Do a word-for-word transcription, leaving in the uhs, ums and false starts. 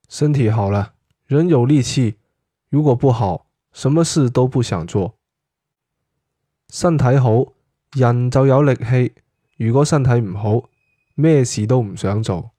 身體好了，人有力氣；如果不好，什麼事都不想做。身體好，人就有力氣；如果身體唔好，咩事都唔想做。